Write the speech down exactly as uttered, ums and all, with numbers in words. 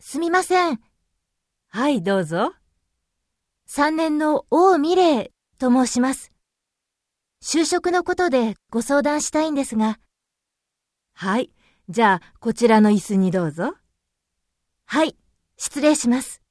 すみません。 はい、どうぞ。 さんねんの王美玲と申します。就職のことでご相談したいんですが。 はい、じゃあこちらの椅子にどうぞ。 はい、失礼します。